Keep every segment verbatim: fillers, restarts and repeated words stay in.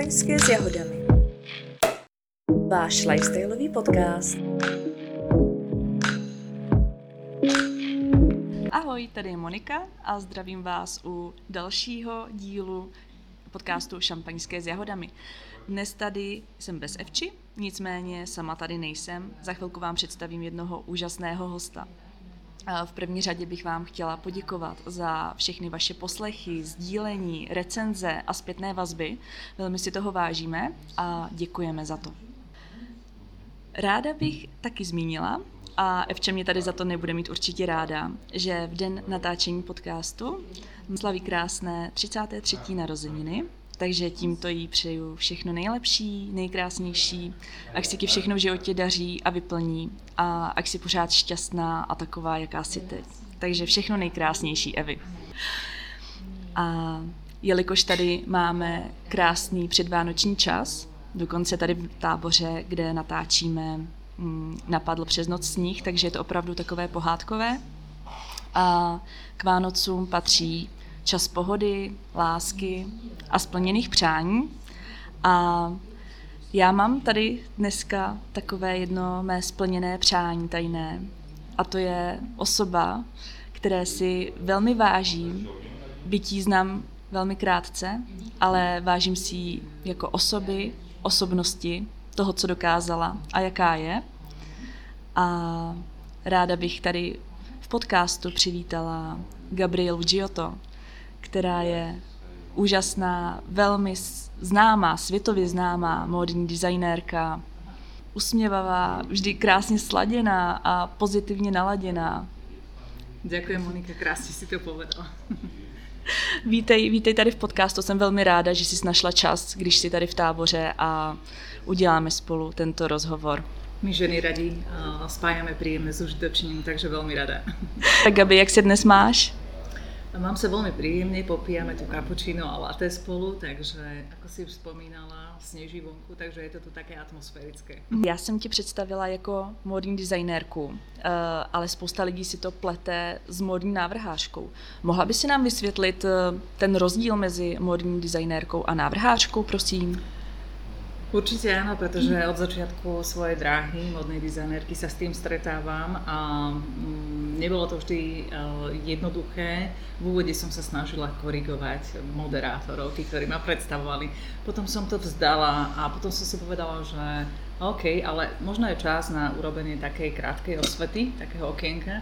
Šampaňské s jahodami. Váš lifestyleový podcast. Ahoj, tady je Monika a zdravím vás u dalšího dílu podcastu Šampaňské s jahodami. Dnes tady jsem bez Evči, nicméně sama tady nejsem. Za chvilku vám představím jednoho úžasného hosta. V první řadě bych vám chtěla poděkovat za všechny vaše poslechy, sdílení, recenze a zpětné vazby. Velmi si toho vážíme a děkujeme za to. Ráda bych taky zmínila, a Evča mě tady za to nebude mít určitě ráda, že v den natáčení podcastu slaví krásné třicáté třetí narozeniny, takže tímto jí přeju všechno nejlepší, nejkrásnější, ať si ti všechno v životě daří a vyplní a ať si pořád šťastná a taková, jaká jsi teď. Takže všechno nejkrásnější, Evi. A jelikož tady máme krásný předvánoční čas, dokonce tady v táboře, kde natáčíme, napadl přes noc sníh, takže je to opravdu takové pohádkové. A k Vánocům patří čas pohody, lásky a splněných přání. A já mám tady dneska takové jedno mé splněné přání tajné. A to je osoba, které si velmi vážím, byť ji znám velmi krátce, ale vážím si ji jako osoby, osobnosti, toho, co dokázala a jaká je. A ráda bych tady v podcastu přivítala Gabrielu Giotto, která je úžasná, velmi známá, světově známá módní designérka, usměvavá, vždy krásně sladěná a pozitivně naladěná. Ďakujem, Monika, krásně si to povedala. Vítej, vítej tady v podcastu, jsem velmi ráda, že jsi našla čas, když jsi tady v táboře a uděláme spolu tento rozhovor. My ženy radi uh, spájame príjemné s užitočným, takže veľmi rada. Tak Gabi, jak se dnes máš? Mám sa veľmi príjemne, popíjame tu cappuccino a latte spolu, takže ako si už spomínala, sneží vonku, takže je to tu také atmosférické. Já jsem ti představila jako módní designérku, ale spousta lidí si to plete s módní návrhářkou. Mohla by si nám vysvětlit ten rozdíl mezi módní designérkou a návrhářkou, prosím? Určite áno, pretože od začiatku svojej dráhy modnej dizajnérky sa s tým stretávam a nebolo to vždy jednoduché. V úvode som sa snažila korigovať moderátorov, tí, ktorí ma predstavovali. Potom som to vzdala a potom som si povedala, že OK, ale možno je čas na urobenie takej krátkej osvety, takého okienka.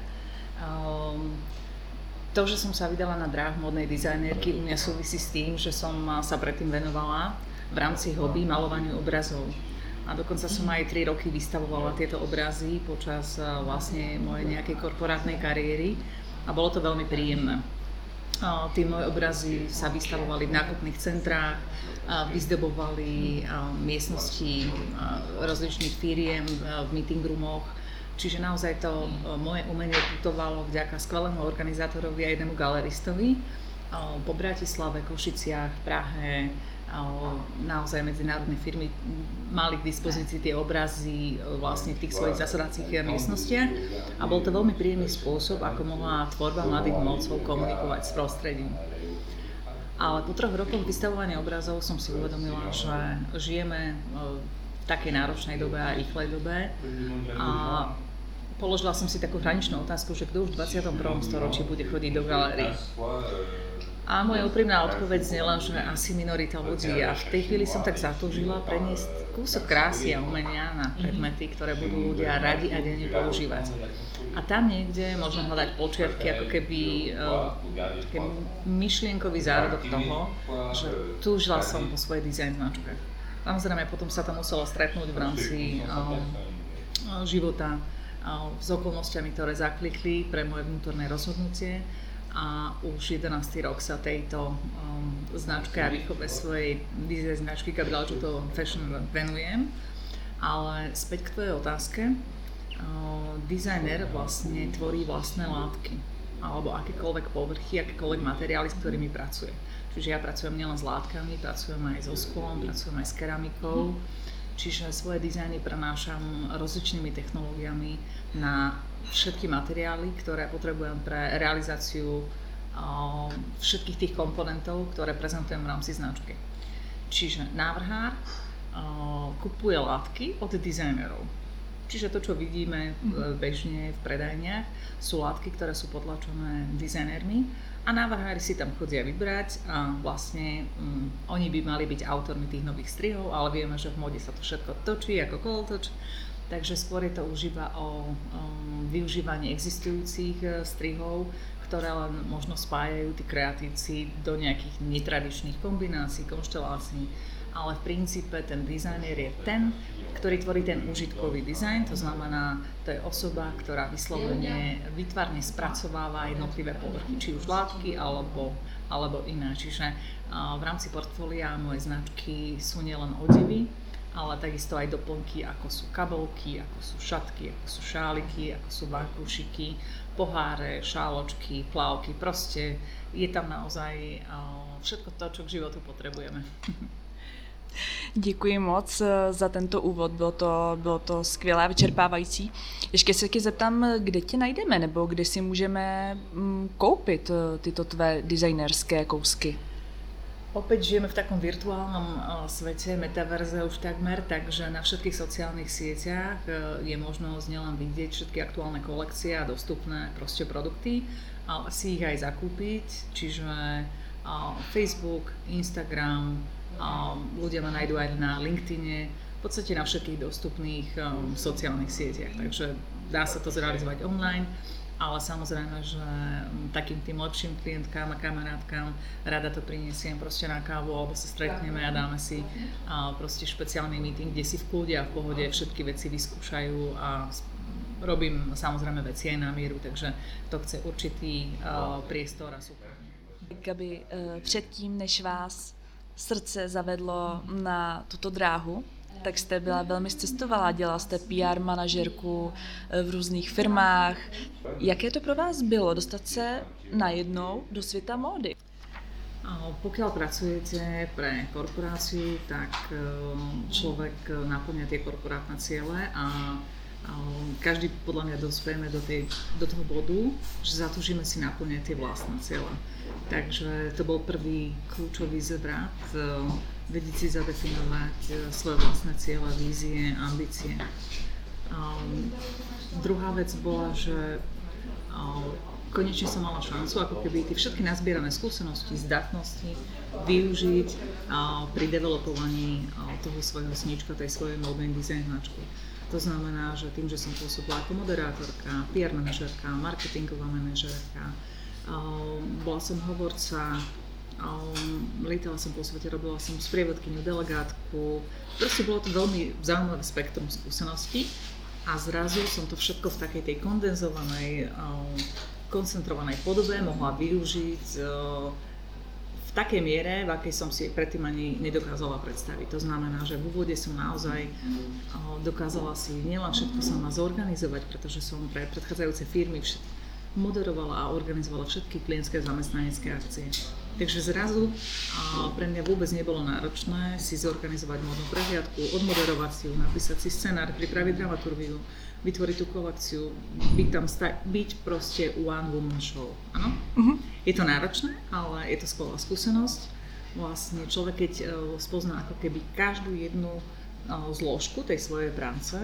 To, že som sa vydala na dráhu modnej dizajnérky, u mňa súvisí s tým, že som sa predtým venovala v rámci hobby malovaniu obrazov. A dokonca som aj tri roky vystavovala tieto obrazy počas vlastne mojej nejakej korporátnej kariéry a bolo to veľmi príjemné. Tí moje obrazy sa vystavovali v nákupných centrách, vyzdobovali miestnosti rozličných firiem v meeting roomoch, čiže naozaj to moje umenie putovalo vďaka skvelému organizátorovi a jednému galeristovi po Bratislave, Košiciach, Prahe. Naozaj medzinárodné firmy mali k dispozícii tie obrazy vlastne v tých svojich zasadacích miestnostiach a bol to veľmi príjemný spôsob, ako mohla tvorba mladých umelcov komunikovať s prostredím. Ale po troch rokoch vystavovania obrazov som si uvedomila, že žijeme v takej náročnej dobe a rýchlej dobe a položila som si takú hraničnú otázku, že kto už v dvadsiatom prvom storočí bude chodiť do galérií. A moja úprimná odpoveď znela, že asi minorita ľudí a v tej chvíli som tak zatúžila preniesť kúsok krásy a umenia na predmety, ktoré budú ľudia radi a denne používať. A tam niekde možno hľadať počiatky, ako keby uh, myšlienkový zárodok toho, že túžila som po svojej dizajn značke. Samozrejme, potom sa to muselo stretnúť v rámci uh, života uh, s okolnostiami, ktoré zaklikli pre moje vnútorné rozhodnutie. A už jedenásty rok sa tejto um, značke a výchove svojej dizajn značky Gabriela Giotto Fashion venujem. Ale späť k tvojej otázke. Uh, dizajner vlastne tvorí vlastné látky alebo akékoľvek povrchy, akékoľvek materiály, s ktorými pracuje. Čiže ja pracujem nielen s látkami, pracujem aj so sklom, pracujem aj s keramikou. Čiže svoje dizajny prenášam rozličnými technológiami na všetky materiály, ktoré potrebujem pre realizáciu uh, všetkých tých komponentov, ktoré prezentujem v rámci značky. Čiže návrhár kupuje látky od dizajnerov. Čiže to, čo vidíme bežne v predajniach, sú látky, ktoré sú potlačené dizajnermi a návrhári si tam chodia vybrať a vlastne um, oni by mali byť autormi tých nových strihov, ale vieme, že v móde sa to všetko točí ako kolotoč, takže skôr je to už iba o um, využívaní existujúcich uh, strihov, ktoré len možno spájajú tí kreatívci do nejakých netradičných kombinácií, konštelácií, ale v princípe ten dizajner je ten, ktorý tvorí ten užitkový dizajn, to znamená, to je osoba, ktorá vyslovene výtvarne spracováva jednotlivé povrchy, či už látky alebo, alebo iné. Čiže uh, v rámci portfólia mojej značky sú nielen odevy, ale takisto aj doplnky, ako sú kabelky, ako sú šatky, ako sú šáliky, ako sú vankúšiky, poháre, šáločky, plavky, proste je tam naozaj uh, všetko to, čo k životu potrebujeme. Děkuji moc za tento úvod, bylo to, bylo to skvělé a vyčerpávající. Ještě se tě zeptám, kde tě najdeme, nebo kde si můžeme koupit tyto tvé designerské kousky? Opäť žijeme v takom virtuálnom svete, metaverze už takmer, takže na všetkých sociálnych sieťach je možnosť nielen vidieť všetky aktuálne kolekcie a dostupné proste produkty, ale si ich aj zakúpiť, čiže Facebook, Instagram, ľudia ma nájdú aj na LinkedIne, v podstate na všetkých dostupných um, sociálnych sieťach, takže dá sa to zrealizovať online, ale samozrejme, že takým tým lepším klientkám a kamarátkám rada to priniesiem proste na kávu, alebo sa stretneme a dáme si uh, proste špeciálny meeting, kde si v kľude a v pohode všetky veci vyskúšajú a robím samozrejme veci aj na mieru, takže to chce určitý uh, priestor a super. Gabi, uh, předtím, než vás srdce zavedlo na tuto dráhu, tak jste byla velmi cestovalá, dělala jste P R manažerku v různých firmách. Jaké to pro vás bylo dostat se najednou do světa módy? Pokiaľ pracujete pre korporáciu, tak človek naplňa tie korporátne ciele a každý podľa mňa dospejeme do, tej, do toho bodu, že zatúžime si naplňať tie vlastné ciele. Takže to bol prvý kľúčový zvrat, vedieť si zadefinovať svoje vlastné ciele, vízie, ambície. Um, druhá vec bola, že um, konečne som mala šancu, ako keby tie všetky nazbierané skúsenosti, zdatnosti využiť uh, pri developovaní uh, toho svojho sníčka, tej svojej módnej design značky. To znamená, že tým, že som pôsobila ako moderátorka, P R manažérka, marketingová manažérka, um, bola som hovorca, um, lietala som po svete, robila som sprievodkyňu, delegátku. Proste bolo to veľmi zaujímavé spektrum skúseností a zrazu som to všetko v takej tej kondenzovanej, um, koncentrovanej podobe mohla využiť um, v takej miere, v akej som si predtým ani nedokázala predstaviť. To znamená, že v úvode som naozaj dokázala si nielen všetko sama zorganizovať, pretože som pre predchádzajúce firmy moderovala a organizovala všetky klientské zamestnanecké akcie. Takže zrazu pre mňa vôbec nebolo náročné si zorganizovať módnu prehliadku, odmoderovať si ju, napísať si scenár, pripraviť dramaturgiu, vytvoriť tú kolekciu, byť tam, sta- byť proste one woman show, áno? Uh-huh. Je to náročné, ale je to skvelá skúsenosť. Vlastne človek, keď uh, spozná ako keby každú jednu uh, zložku tej svojej práce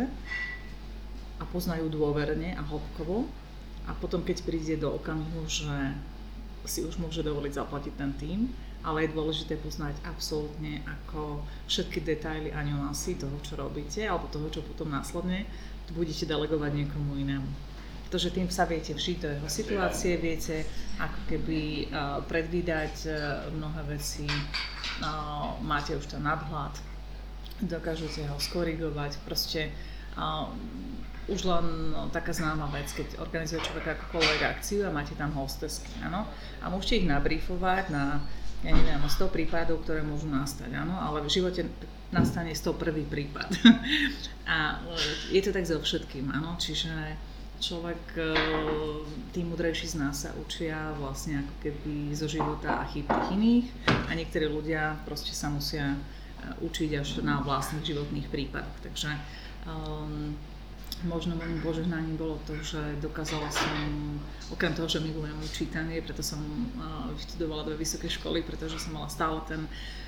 a pozná ju dôverne a hĺbkovo a potom keď príde do okamihu, že si už môže dovoliť zaplatiť ten tím, ale je dôležité poznať absolútne ako všetky detaily a nuancy toho, čo robíte, alebo toho, čo potom následne budete delegovať niekomu inému. Pretože tým sa viete vžiť do jeho situácie, viete ako keby uh, predvídať uh, mnohé veci, uh, máte už ten nadhľad, dokážete ho skorigovať, proste uh, už len no, taká známa vec, keď organizuje človek ako kolega akciu a máte tam hostesky, áno, a môžete ich nabrýfovať na, ja neviem, sto prípadov, ktoré môžu nastať, áno, ale v živote nastane sto prvý prípad. A je to tak so všetkým, áno, čiže človek, tí múdrejší z nás sa učia vlastne ako keby zo života a chýb tých iných a niektorí ľudia proste sa musia učiť až na vlastných životných prípadoch. Takže um, možno môjim požehnaním bolo to, že dokázala som, okrem toho, že milujem čítanie, preto som uh, vyštudovala dve vysoké školy, pretože som mala stále ten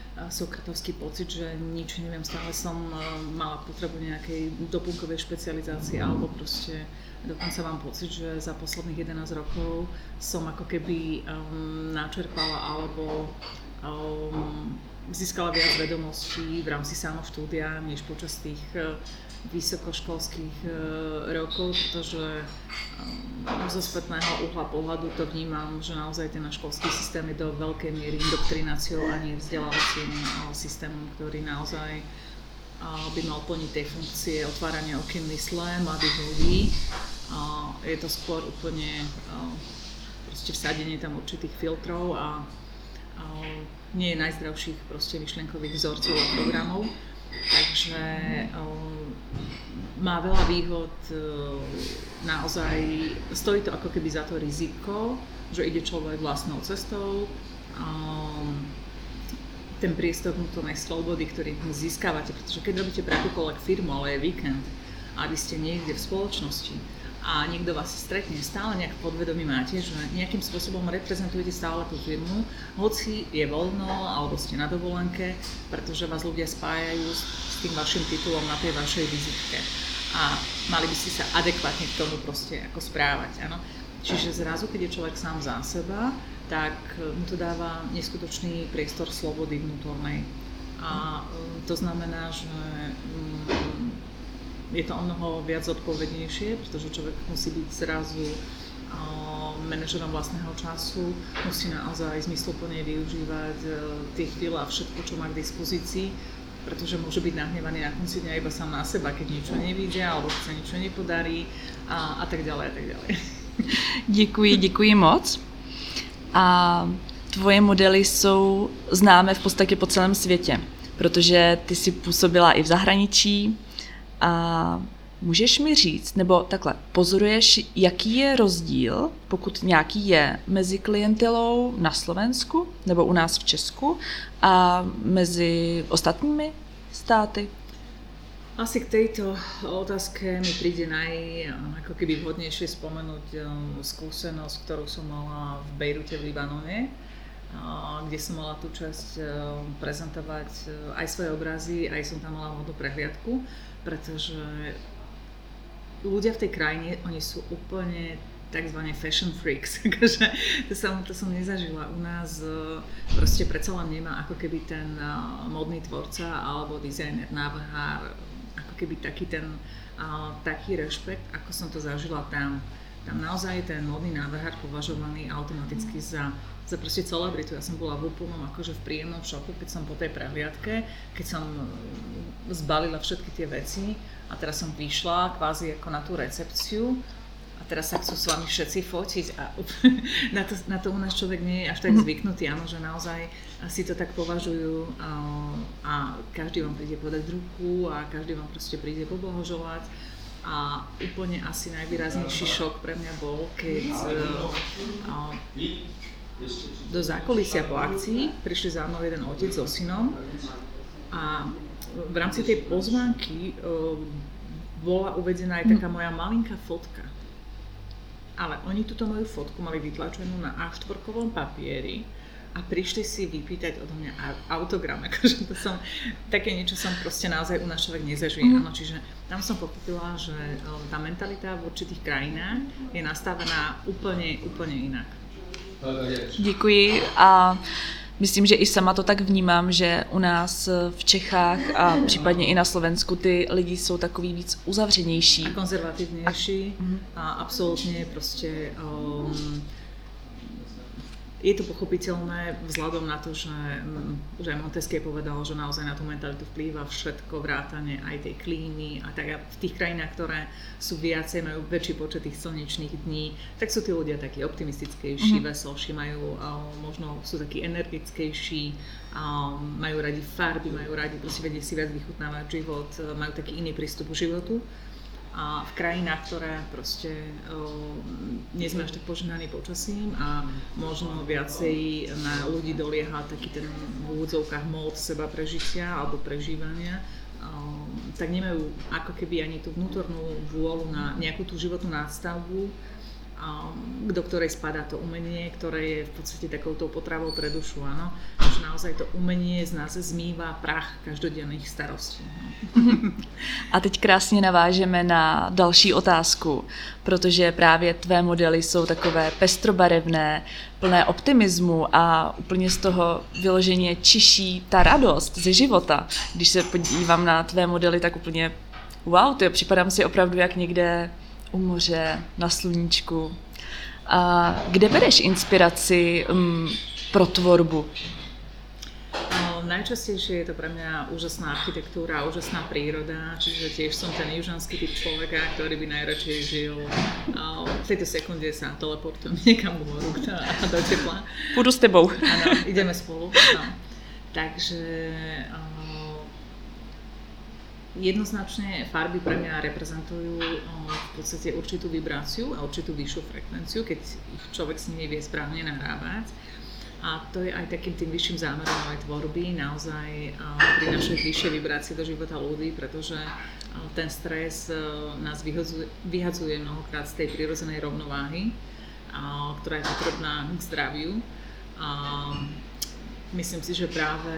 sokratovský pocit, že nič neviem, stále som mala potrebu nejakej doplnkovej špecializácie alebo proste dokonca mám pocit, že za posledných jedenásť rokov som ako keby um, načerpala alebo um, získala viac vedomostí v rámci samoštúdia, než počas tých uh, vysokoškolských uh, rokov, pretože um, zo spätného uhla pohľadu to vnímam, že naozaj ten náš školský systém je do veľkej miery indoktrináciou a nie vzdelávacím uh, systémom, ktorý naozaj uh, by mal plniť tej funkcie otvárania okien mysle mladých ľudí. Uh, je to skôr úplne uh, proste vsadenie tam určitých filtrov a uh, nie je najzdravších proste myšlienkových vzorcov a programov. Takže uh, má veľa výhod, uh, naozaj stojí to ako keby za to riziko, že ide človek vlastnou cestou. Um, ten priestor vnútornej slobody, ktorý získavate, pretože keď robíte pre akúkoľvek firmu, ale je víkend a vy ste niekde v spoločnosti a niekto vás stretne, stále nejak podvedomí máte, že nejakým spôsobom reprezentujete stále tú firmu, hoci je voľno alebo ste na dovolenke, pretože vás ľudia spájajú s, s tým vašim titulom na tej vašej vizitke a mali by ste sa adekvátne k tomu proste ako správať, áno. Čiže zrazu, keď je človek sám za seba, tak mu to dáva neskutočný priestor slobody vnútornej. A to znamená, že je to o mnoho viac zodpovednejšie, pretože človek musí byť zrazu manažerom vlastného času, musí naozaj zmysluplne využívať tie chvíle a všetko, čo má k dispozícii, pretože môže byť nahnevaný na konci dňa iba sám na seba, keď niečo nevíde alebo sa niečo nepodarí a, a tak ďalej a tak ďalej. Děkuji, děkuji moc. A tvoje modely jsou známé v podstatě po celém světě, protože ty jsi působila i v zahraničí. A můžeš mi říct, nebo takhle, pozoruješ, jaký je rozdíl, pokud nějaký je, mezi klientelou na Slovensku nebo u nás v Česku a mezi ostatními státy? Asi k tejto otázke mi príde naj, ako keby vhodnejšie spomenúť skúsenosť, ktorú som mala v Bejrute v Libanone, kde som mala tú časť prezentovať aj svoje obrazy, aj som tam mala hodnú prehliadku, pretože ľudia v tej krajine, oni sú úplne takzvané fashion freaks, takže to som, to som nezažila. U nás proste predsa len nemá ako keby ten modný tvorca alebo dizajner, návrhár, ako keby taký ten uh, taký rešpekt, ako som to zažila tam. Tam naozaj ten modný návrhár považovaný automaticky za, za proste celebritu. Ja som bola v úplnom akože v príjemnom šoku, keď som po tej prehliadke, keď som zbalila všetky tie veci a teraz som vyšla kvázi ako na tú recepciu a teraz sa chcú s vami všetci fotiť a na to, na to u nás človek nie je až tak zvyknutý, áno, že naozaj si to tak považujú a, a každý vám príde podať ruku a každý vám proste príde poblahoželať. A úplne asi najvýraznejší šok pre mňa bol, keď uh, do zákulisia po akcii prišli za mnou jeden otec so synom a v rámci tej pozvánky uh, bola uvedená aj taká moja malinká fotka. Ale oni túto moju fotku mali vytlačenú na á štyri papieri a prišli si vypýtať odo mňa autogram, akože to som, také niečo som proste naozaj u nás človek nezažije, mm. áno, čiže tam som pochopila, že tá mentalita v určitých krajinách je nastavená úplne, úplne inak. Děkuji a myslím, že i sama to tak vnímám, že u nás v Čechách a případně i na Slovensku ty lidi jsou takový víc uzavřenější. A konzervatívnejší a, a absolútne proste um, je to pochopiteľné vzhľadom na to, že, že Montesquieu povedal, že naozaj na tú mentalitu vplýva všetko, vrátane aj tej klímy a tak v tých krajinách, ktoré sú viacej, majú väčší počet tých slnečných dní, tak sú tí ľudia takí optimistickejší, mm-hmm. veselší, majú, možno sú takí energickejší, majú radi farby, majú radi, proste vedia si viac vychutnávať život, majú taký iný prístup k životu. A v krajinách, ktoré proste uh, nie sme až tak požehnaní počasím a možno viacej na ľudí dolieha taký ten v úvodzovkách mód seba prežitia alebo prežívania, uh, tak nemajú ako keby ani tú vnútornú vôľu na nejakú tú životnú nástavbu do ktorej spadá to umenie, ktoré je v podstate takouto potravou pre dušu, áno. Že naozaj to umenie z nás zmýva prach každodenných starostí. No. A teď krásně navážeme na další otázku, protože právě tvé modely jsou takové pestrobarevné, plné optimismu a úplně z toho vyloženě čiší ta radost ze života. Když se podívám na tvé modely, tak úplně wow, to je, připadám si opravdu jak někde u moře, na sluníčku. A kde bereš inspiraci um, pro tvorbu? No, najčastejšie je to pre mňa úžasná architektúra, úžasná príroda, čiže tiež som ten južanský typ človeka, ktorý by najradšej žil. V tejto sekunde sa teleportujem niekam k moru a do tepla. Pôjdu s tebou. Áno, ideme spolu. No. Takže jednoznačne farby pre mňa reprezentujú v podstate určitú vibráciu a určitú vyššiu frekvenciu, keď ich človek s nimi vie správne nahrávať. A to je aj takým tým vyšším zámerom aj tvorby, naozaj prinášať vyššie vibrácie do života ľudí, pretože ten stres nás vyhadzuje, vyhadzuje mnohokrát z tej prirodzenej rovnováhy, ktorá je potrebná k zdraviu. Myslím si, že práve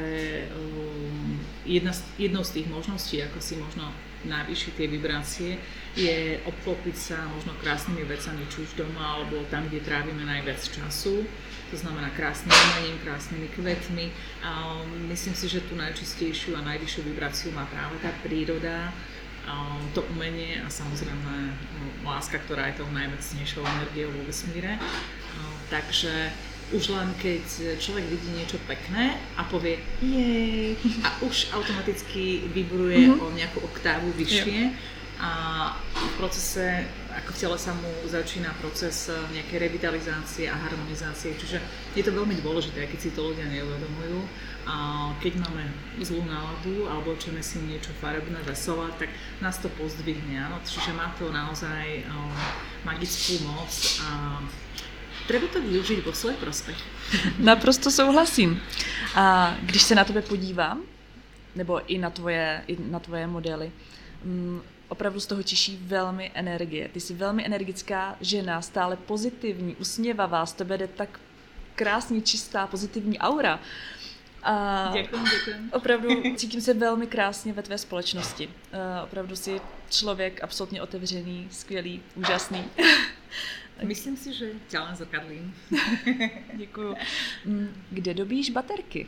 jedna z, jednou z tých možností, ako si možno navýšiť tie vibrácie, je obklopiť sa možno krásnymi vecami, či už doma, alebo tam, kde trávime najviac času. To znamená krásnym umením, krásnymi kvetmi. A myslím si, že tú najčistejšiu a najvyššiu vibráciu má práve tá príroda, to umenie a samozrejme láska, ktorá je tou najmocnejšou energiou vo vesmíre. Takže už len keď človek vidí niečo pekné a povie jej a už automaticky vibruje mm-hmm. o nejakú oktávu vyššie a v procese, ako v tele sa mu začína proces nejakej revitalizácie a harmonizácie, čiže je to veľmi dôležité, keď si to ľudia neuvedomujú. A keď máme zlú náladu alebo čeme si niečo farebné, veselé, tak nás to pozdvihne, áno? Čiže má to naozaj um, magickú moc a treba to využiť vo svoj prospech. Naprosto souhlasím. A když se na tebe podívám, nebo i na tvoje, i na tvoje modely, um, opravdu z toho čiší velmi energie. Ty jsi velmi energická žena, stále pozitivní, usměvavá, z tebe jde tak krásně čistá, pozitivní aura. A děkujem, děkujem. Opravdu cítím se velmi krásně ve tvé společnosti. Uh, opravdu jsi člověk absolutně otevřený, skvělý, úžasný. Myslím si, že ťa len zrkadlím. Děkuju. Kde dobíš baterky?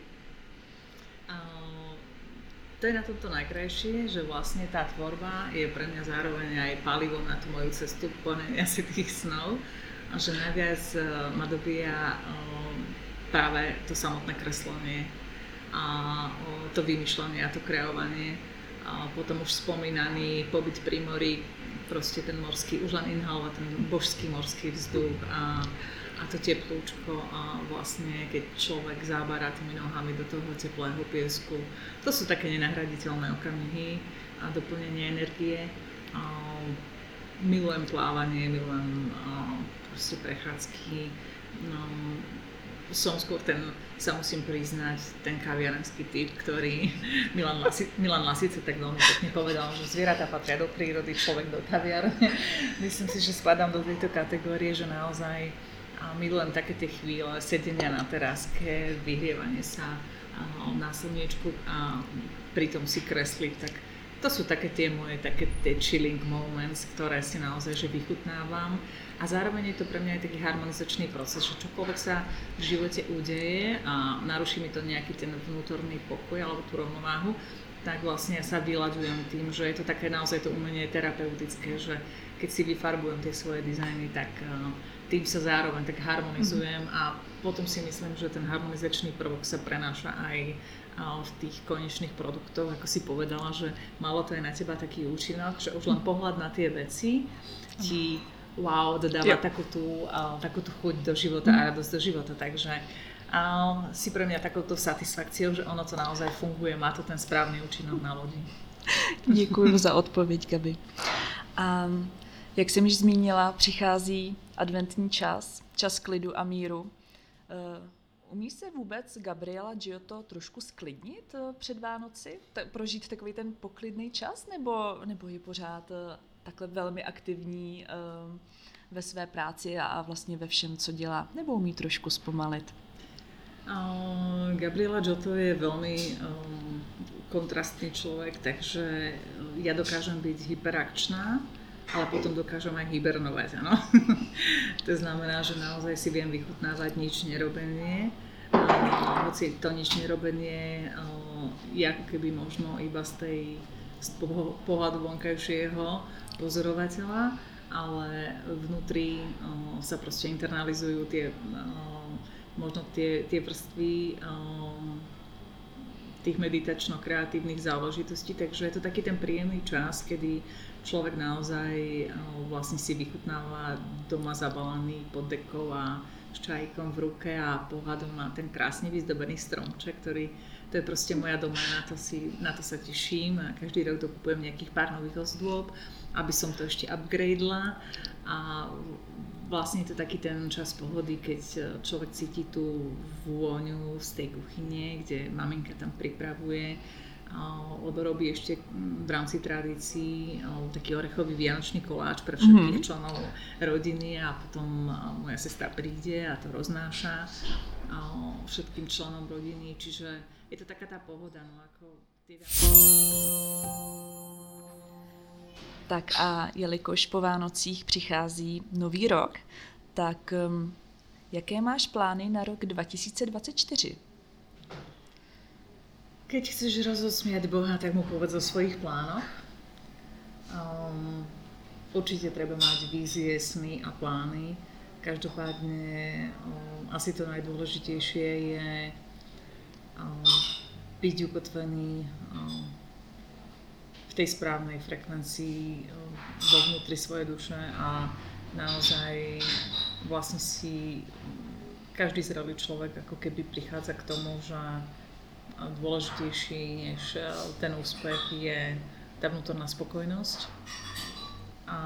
Uh, to je na tomto najkrajšie, že vlastne tá tvorba je pre mňa zároveň aj palivom na tú moju cestu plnenia si tých snov. A že najviac uh, ma dobíja uh, práve to samotné kreslenie a uh, to vymýšľanie a to kreovanie. A potom už spomínaný pobyt pri mori, proste ten morský, už len inhalovať ten božský morský vzduch a, a to teplúčko a vlastne keď človek zábará tými nohami do toho teplého piesku. To sú také nenahraditeľné okamihy a doplnenie energie. A milujem plávanie, milujem a, proste prechádzky. No, som skôr ten, sa musím priznať, ten kaviarenský typ, ktorý Milan, Lasi, Milan Lasice tak veľmi pekne povedal, že zvieratá patria do prírody, človek do kaviarne. Myslím si, že spadám do tejto kategórie, že naozaj milujem také tie chvíle sedenia na teráske, vyhrievanie sa na slniečku a pritom si kresliť, tak to sú také tie moje také tie chilling moments, ktoré si naozaj že vychutnávam. A zároveň je to pre mňa aj taký harmonizačný proces, že čokoľvek sa v živote udeje a naruší mi to nejaký ten vnútorný pokoj alebo tú rovnováhu, tak vlastne sa vyľaďujem tým, že je to také naozaj to umenie terapeutické, že keď si vyfarbujem tie svoje dizajny, tak tým sa zároveň tak harmonizujem a potom si myslím, že ten harmonizačný prvok sa prenáša aj v tých konečných produktoch, ako si povedala, že malo to aj na teba taký účinok, že už len pohľad na tie veci ti wow, dodáva takú tú, uh, takú tú chuť do života a radosť do života, takže uh, si pre mňa takouto satisfakciou, že ono to naozaj funguje, má to ten správny účinok na ľudí. Děkuji za odpověď, Gabi. A jak jsem již zmínila, přichází adventní čas, čas klidu a míru. Uh, umí se vůbec Gabriela Giotto trošku sklidnit uh, před Vánoci? T- prožít takový ten poklidný čas, nebo, nebo je pořád uh, takhle velmi aktivní, ve své práci a vlastně ve všem, co dělá, nebo umí trošku zpomalit? Uh, Gabriela Giotto je veľmi um, kontrastný človek, takže ja dokážem byť hyperakčná, ale potom dokážem aj hibernovať, áno. To znamená, že naozaj si viem vychutnávať nič nerobenie. Uh, hoci to nič nerobenie uh, je ako keby možno iba z tej z pohľadu vonkajšieho pozorovateľa, ale vnútri uh, sa proste internalizujú tie uh, možno tie, tie vrstvy um, tých meditačno-kreatívnych záležitostí, takže je to taký ten príjemný čas, kedy človek naozaj um, vlastne si vychutnáva doma zabalený pod dekou a s čajíkom v ruke a pohľadom na ten krásne vyzdobený stromček, ktorý to je proste moja doména, to si, na to sa teším a každý rok dokupujem nejakých pár nových ozdôb, aby som to ešte upgradela a vlastne je to taký ten čas pohody, keď človek cíti tú vôňu z tej kuchyne, kde maminka tam pripravuje, lebo robí ešte v rámci tradícií taký orechový vianočný koláč pre všetkých mm-hmm. členov rodiny a potom moja sestra príde a to roznáša všetkým členom rodiny, čiže je to taká tá pohoda, no ako tie... Tak a jelikož po Vánocích přichází nový rok, tak um, jaké máš plány na rok dva tisíce dvacet čtyři? Keď chceš rozosmiať Boha, tak mu povedz o svojich plánoch. Um, určite treba mať vízie, sny a plány. Každopádne um, asi to najdôležitejšie je um, byť ukotvený um, v tej správnej frekvencii vo vnútri svojej duše a naozaj vlastne si každý zrelý človek ako keby prichádza k tomu, že dôležitejší než ten úspech je tá vnútorná spokojnosť a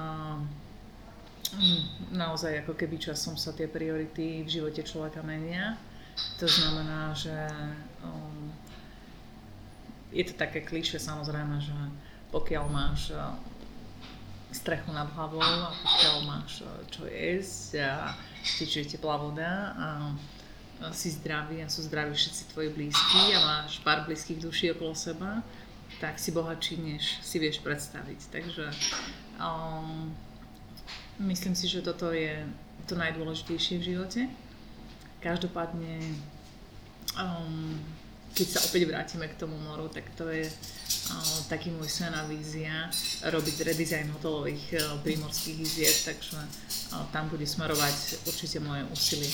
naozaj ako keby časom sa tie priority v živote človeka menia. To znamená, že um, je to také klíše samozrejme, že pokiaľ máš strechu nad hlavou a pokiaľ máš čo jesť a tečie teplá voda a si zdravý a sú zdraví všetci tvoji blízky a máš pár blízkych duší okolo seba, tak si bohatší, než si vieš predstaviť. Takže um, myslím si, že toto je to najdôležitejšie v živote. Každopádne um, keď sa opäť vrátime k tomu moru, tak to je uh, taký môj sen a vízia robiť redizajn hotelových uh, prímorských iziet, takže uh, tam bude smerovať určite moje úsilie.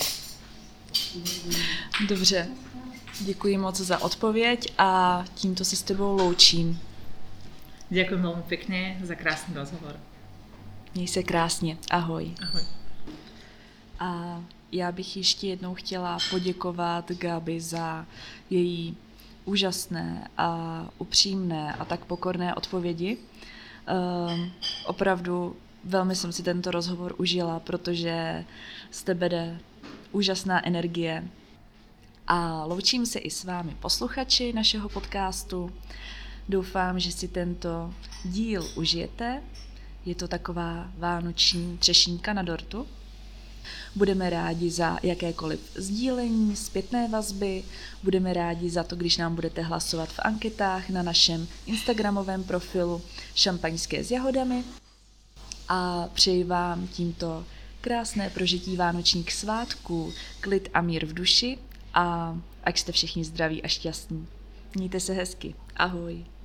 Dobře, děkuji moc za odpověď a tímto se s tebou loučím. Ďakujem veľmi pekne za krásny rozhovor. Měj se krásně, ahoj. Ahoj. A já bych ještě jednou chtěla poděkovat Gabi za její úžasné a upřímné a tak pokorné odpovědi. Um, opravdu velmi jsem si tento rozhovor užila, protože z tebe jde úžasná energie. A loučím se i s vámi posluchači našeho podcastu. Doufám, že si tento díl užijete. Je to taková vánoční třešínka na dortu. Budeme rádi za jakékoliv sdílení, zpětné vazby, budeme rádi za to, když nám budete hlasovat v anketách na našem instagramovém profilu Šampaňské s jahodami a přeji vám tímto krásné prožití vánočních svátků, klid a mír v duši a ať jste všichni zdraví a šťastní. Mějte se hezky. Ahoj.